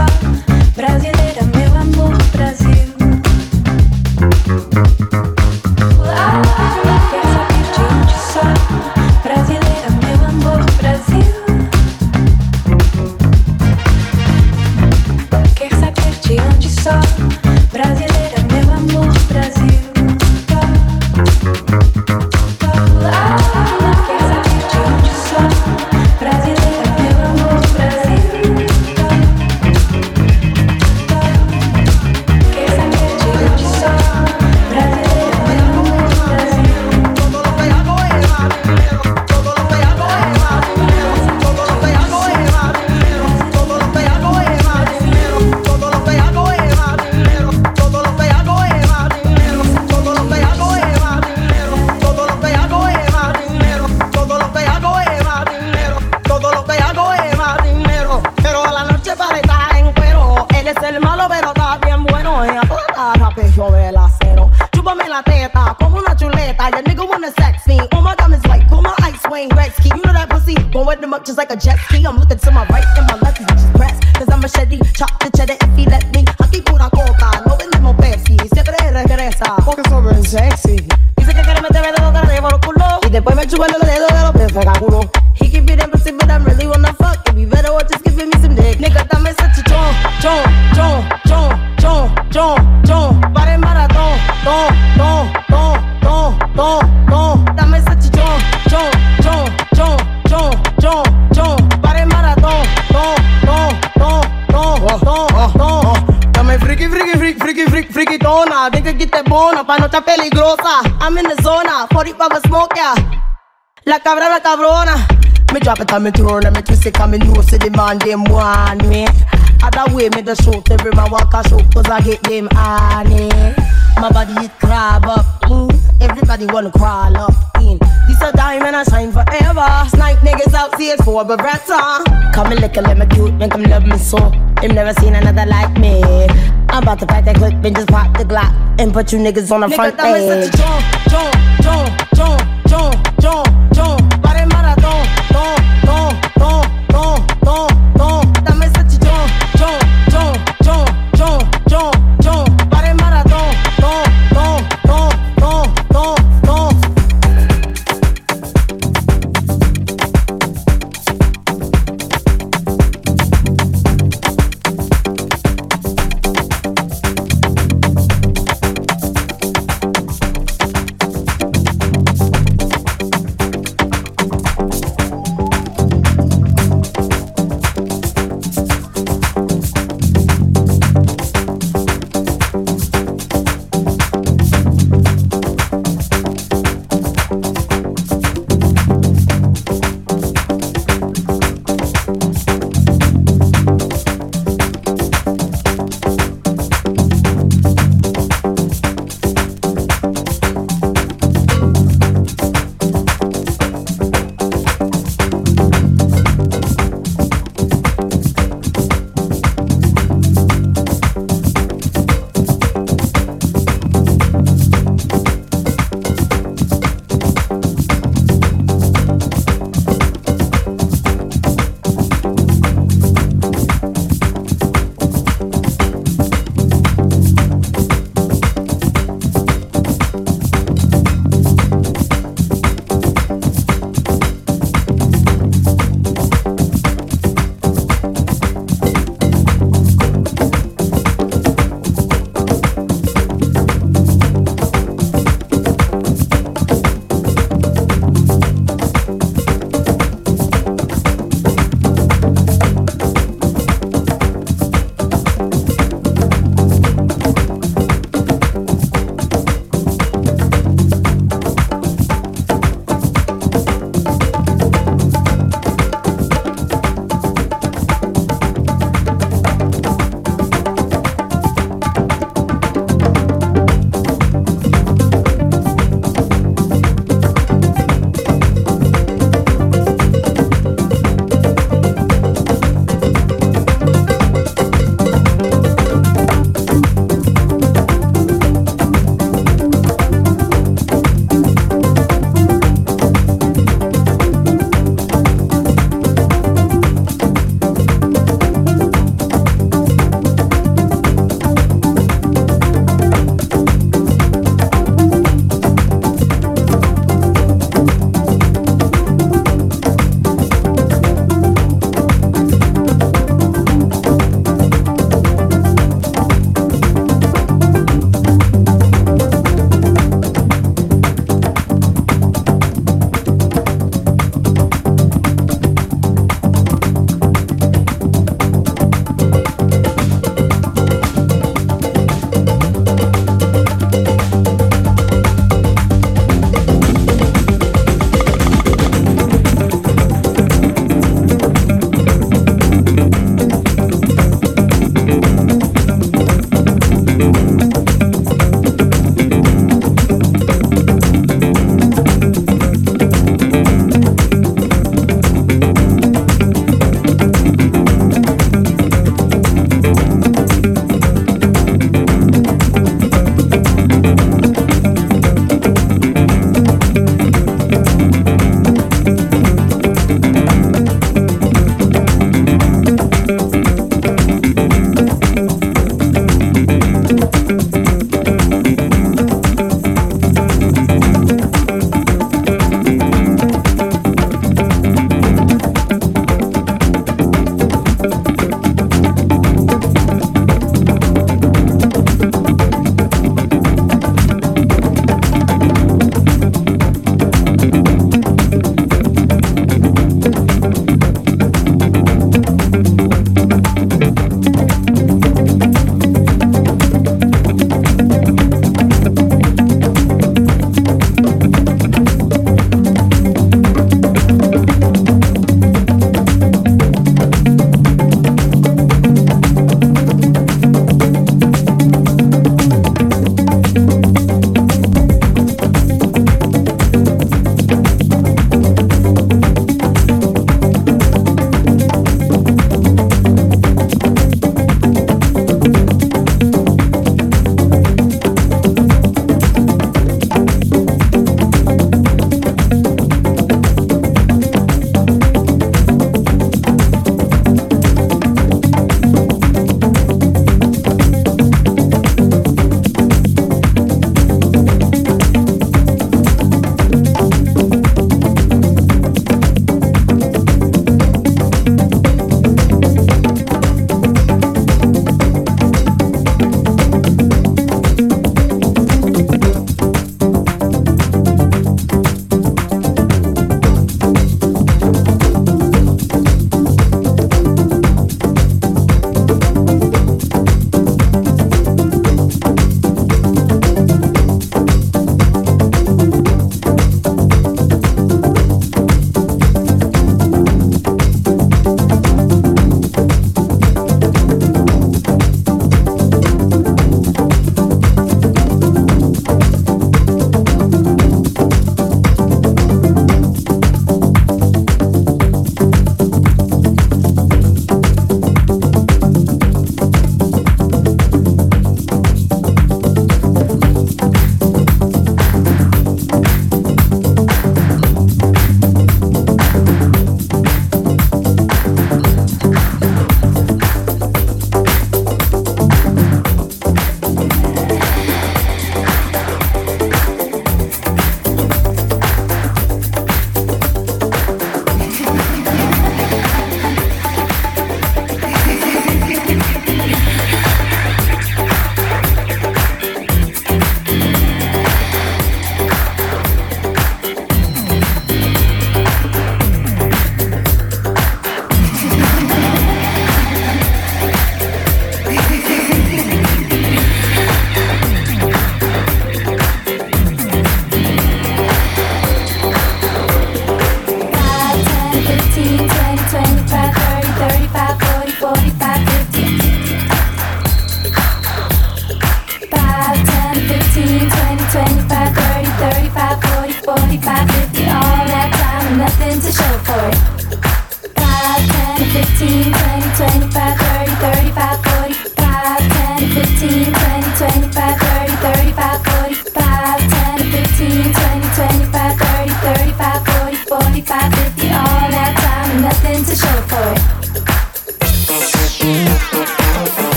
brasileira, meu amor, Brasil. Quer saber de onde sou? Brasileira, meu amor, Brasil. Quer saber de onde sou? Brasileira, meu amor, Brasil. Quer saber de onde sou? Brasileira, meu amor, Brasil. Quer saber de onde sou? Brasileira, meu amor, Brasil. Todo lo que hago es más dinero. Todo lo que hago es más dinero. Todo lo que hago es más dinero. Todo lo que hago es más dinero. Todo lo que hago es más dinero. Todo lo que hago es más dinero. Todo lo que hago es más dinero. Todo lo que hago es más dinero. Todo lo que hago es más dinero. Todo lo que hago es más dinero. Pero a la noche para estar en cuero. Él es el malo pero está bien bueno. Ella toda la pecho del acero. Chúpame la teta como una chuleta. Your nigga wanna sex me. Oh my God, it's like pull my ice Wayne Gretzky. You know that pussy gon' wet them up just like a jet ski. I'm looking to my right and my left, which is press. Cause I'm a machete, chop the cheddar if he let me. Aquí pura coca, no vendemos Pepsi. Siempre regresa porque soy bien sexy. Dice que quiere meterme dedo de por el culo y después me chupa los dedos de los pies culo. He can be them pussy, but I'm really wanna fuck. If you better watch just giving me some dick. Nigga, dame ese chichón, chon. Para el maratón, ton. Dame ese chichón, chon. Para el maratón, ton. Dame friki tona. Venga que te bona, pa' no estar peligrosa. I'm in the zona, 45 smoke, yeah. La cabra, la cabrona. Me drop it on me throne and me twist it and me know see the man them want me. Other way me the shoot, every man walk a shoot cause I get them honey. My body it crab up in, everybody wanna crawl up in. This a diamond I shine forever. Snipe niggas out here for Beretta. Come and lick a lemon cute, make them love me so. Them never seen another like me. I'm about to fight that clip and just pop the Glock and put you niggas on the front page. Chon. Para el maratón, ton. Dame ese chichón, chon. Para el maratón, ton.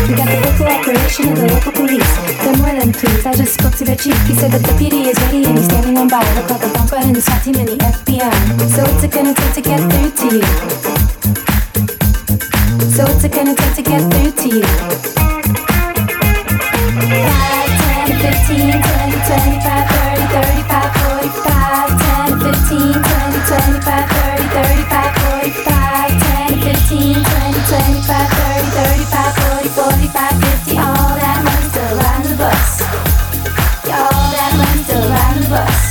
We got the full cooperation of the local police. They're more than pleased. I just spoke to their chief. He said that the PD is ready and he's standing on by. Look like a bumper in the SWAT team and the FBI. So what's it gonna take to get through to you? So what's it gonna take to get through to you? 5, 10, 15, 20, 25, 30, 35, 45. 10, 15, 20, 25, 30, 35, 45. 10, 15, 20, 25, 30, 35, 40, 45, 50. All that money's still riding the bus. All that money's still riding the bus.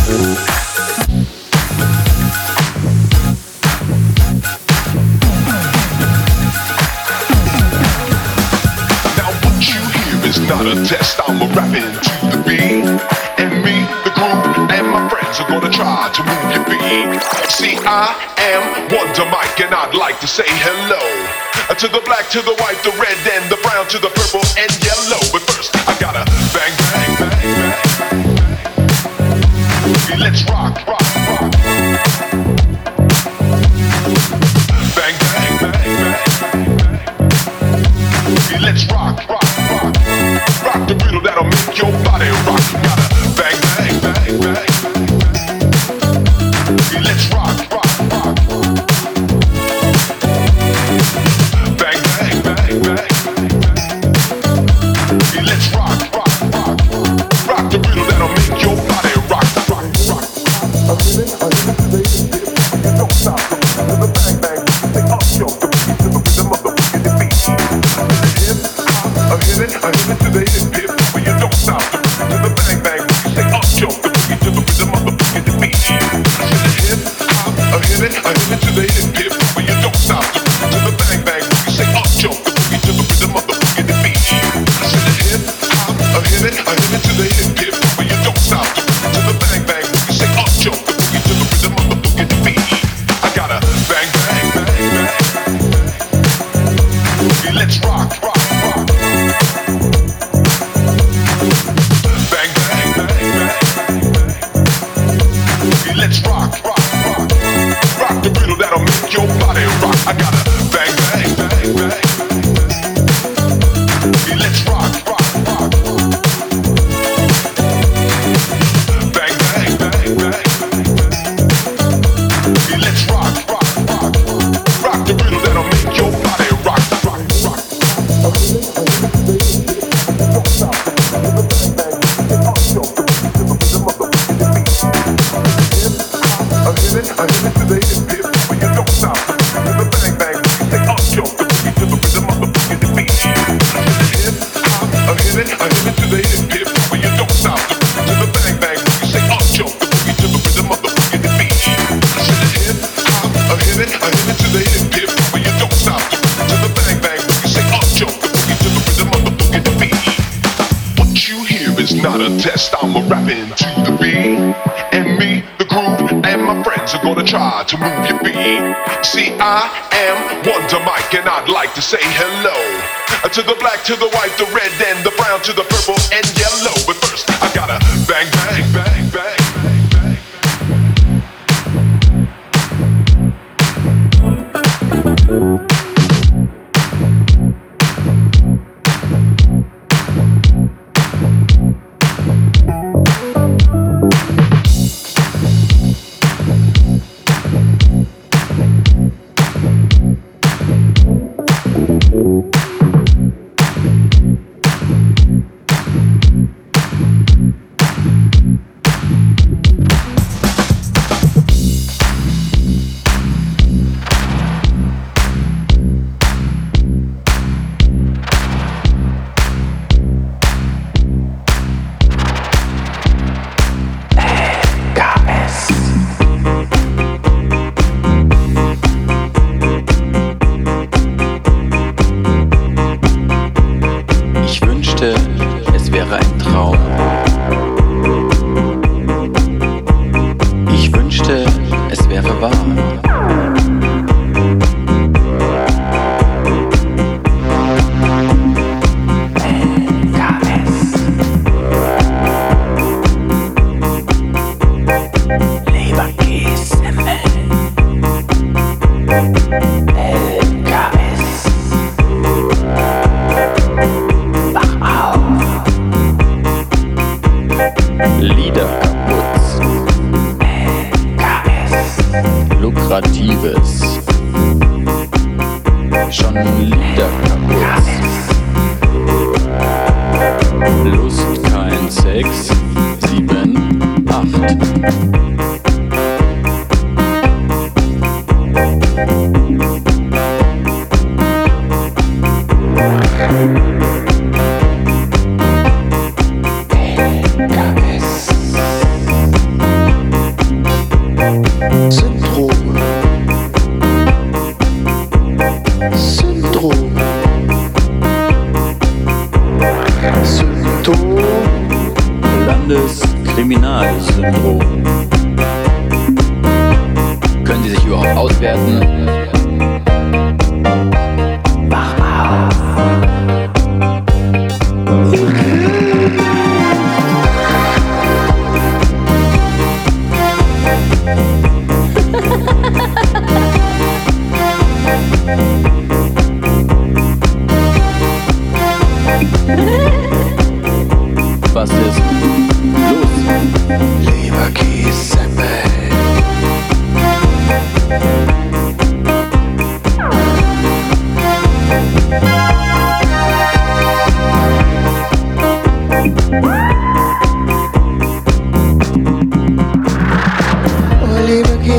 Not a test, I'm a rapping to the beat. And me, the group, and my friends are gonna try to move your feet. See, I am Wonder Mike, and I'd like to say hello to the black, to the white, the red, and the brown, to the purple and yellow. But first, I gotta bang, bang, bang, bang. Let's rock, rock, rock. Bang, bang, bang, bang. Let's rock, rock. Rock the riddle that'll make your body rock. You gotta bang, bang, bang, bang. Let's rock, rock, rock. Bang, bang, bang, bang. Let's rock, rock, rock. Rock the riddle that'll make your body rock, rock, rock. A minute, you don't stop. To the bang, bang, say up, yo, the beat to the rhythm of the wicked beat. A hit it to the hip hip, but you don't stop. To the bang bang, you say up jump, the boogie to the rhythm of the boogie to beat. To the hip hop, a hit it to the hip hip, but you don't stop. To the bang bang, you say up jump, the boogie to the rhythm of the boogie to beat. To the hip hop, a hit it to the hip hip, but you don't stop. To the bang bang, you say up jump, the boogie to the rhythm of the boogie to beat. I gotta bang bang bang bang. Let's rock, rock, rock. Bang, bang, bang, bang. Let's rock, rock, rock. Rock the riddle that'll make your body rock. I gotta bang, bang, bang, bang. Let's rock, rock, rock. Bang, bang, bang, bang. Let's rock, rock, rock. Rock the riddle that'll make your body rock, rock, rock. Don't stop. I hit it to the hip hip, but you don't stop. To the bang bang, you say up jump, the boogie to the rhythm of the boogie to beat. To the hip hop, I hit it to the hip hip, but you don't stop. To the bang bang, you say up jump, the boogie to the rhythm of the boogie to beat. To the hip hop, I hit it to the hip hip, but you don't stop. To the bang bang, you say up jump, the boogie to the rhythm of the boogie to beat. What you hear is not a test, I'm a rapping to the beat. And me, the group, and my friends are gonna try to move your feet. See, I am Wonder Mike, and I'd like to say hello to the black, to the white, the red, and the brown, to the purple and yellow. But first, I gotta bang, bang, bang, bang.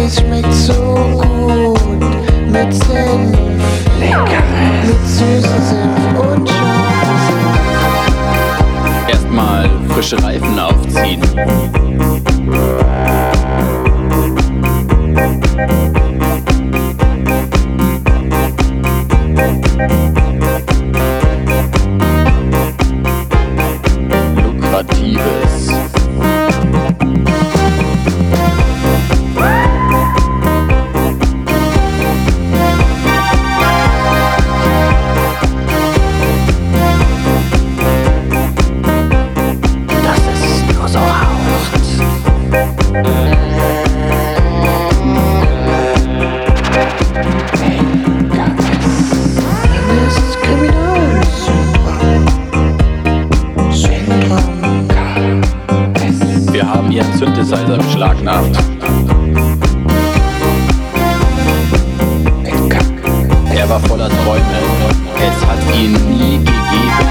schmeckt so gut mit Senf, lecker, mit süßem Senf und scharfem Senf. Erstmal frische Reifen aufziehen. Lukratives. Synthesizer beschlagnahmt. Er war voller Träume, es hat ihn nie gegeben.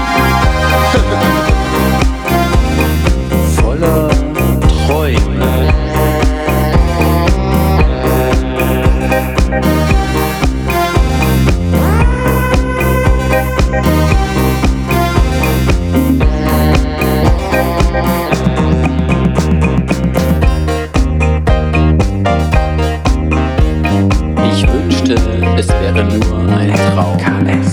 Voller Träume. Es wäre nur ein Traum. KS.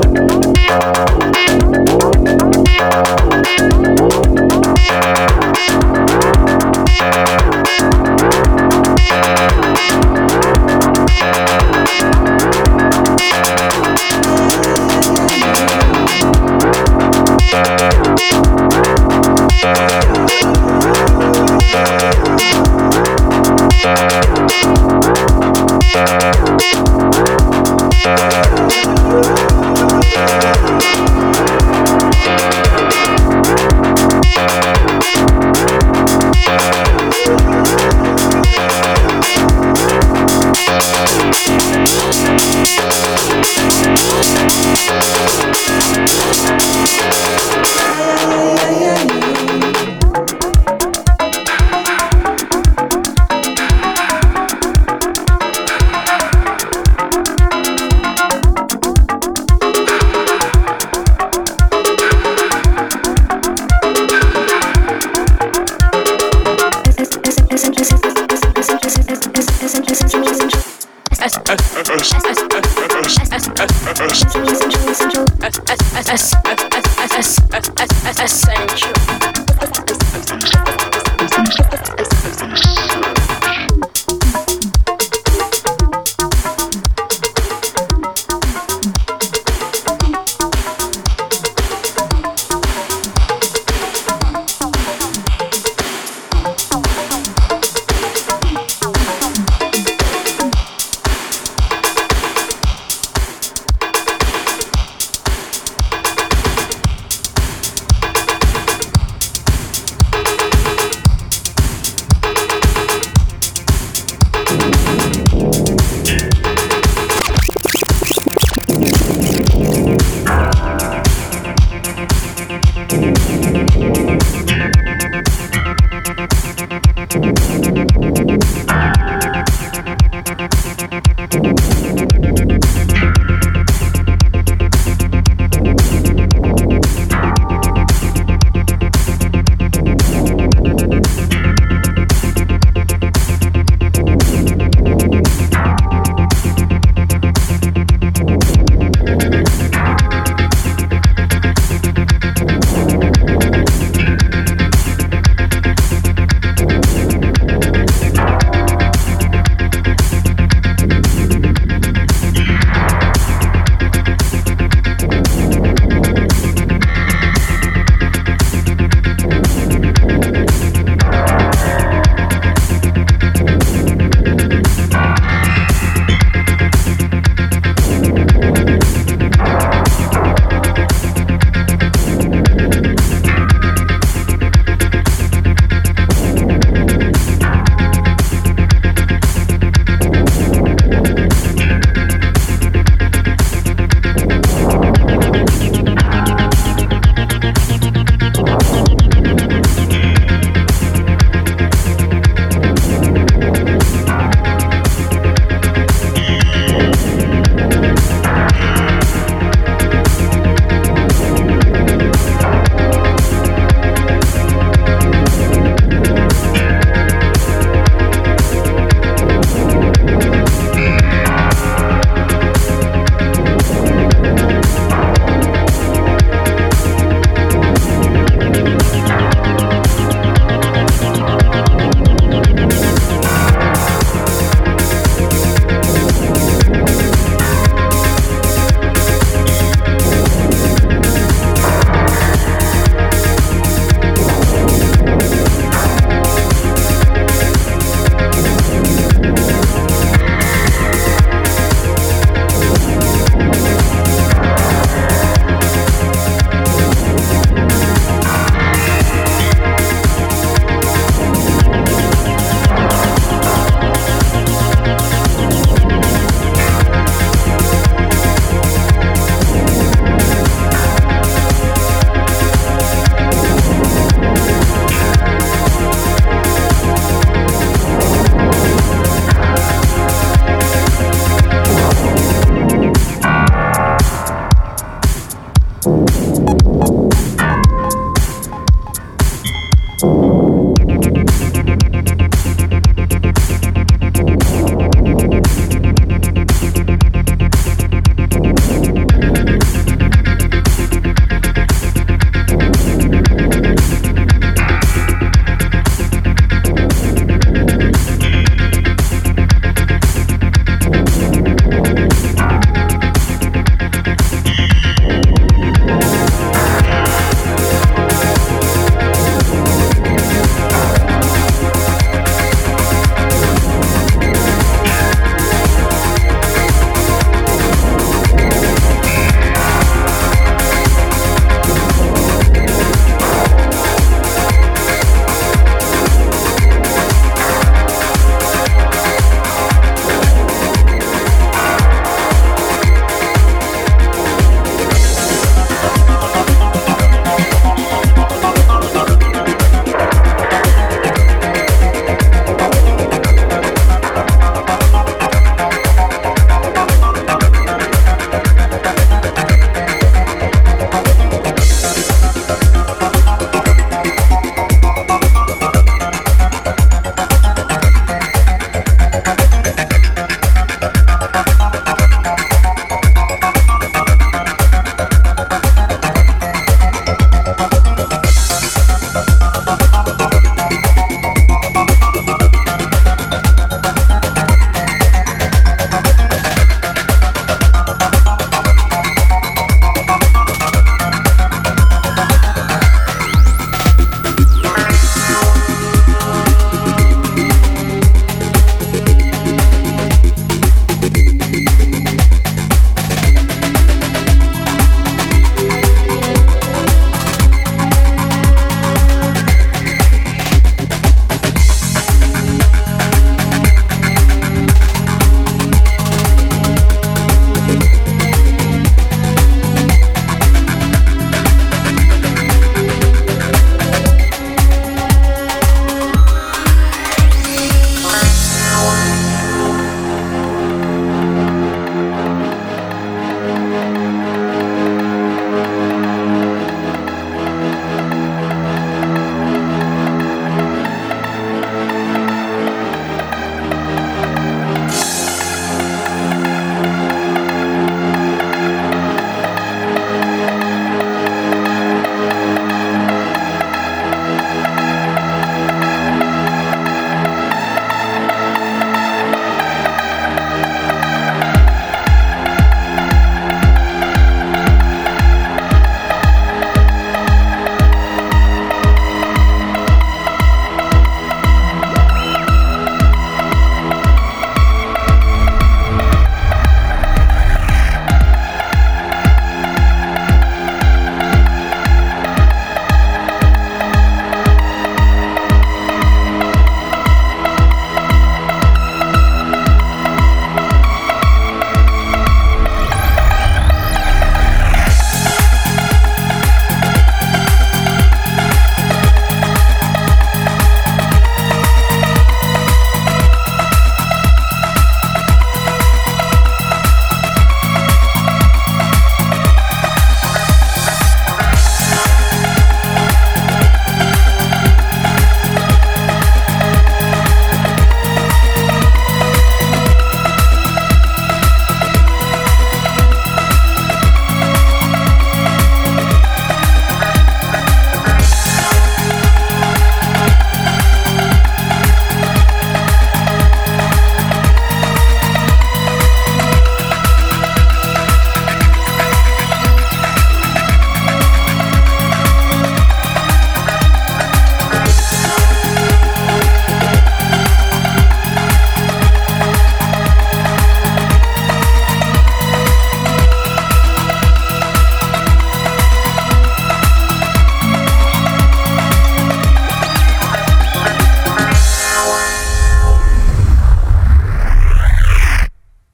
Essential.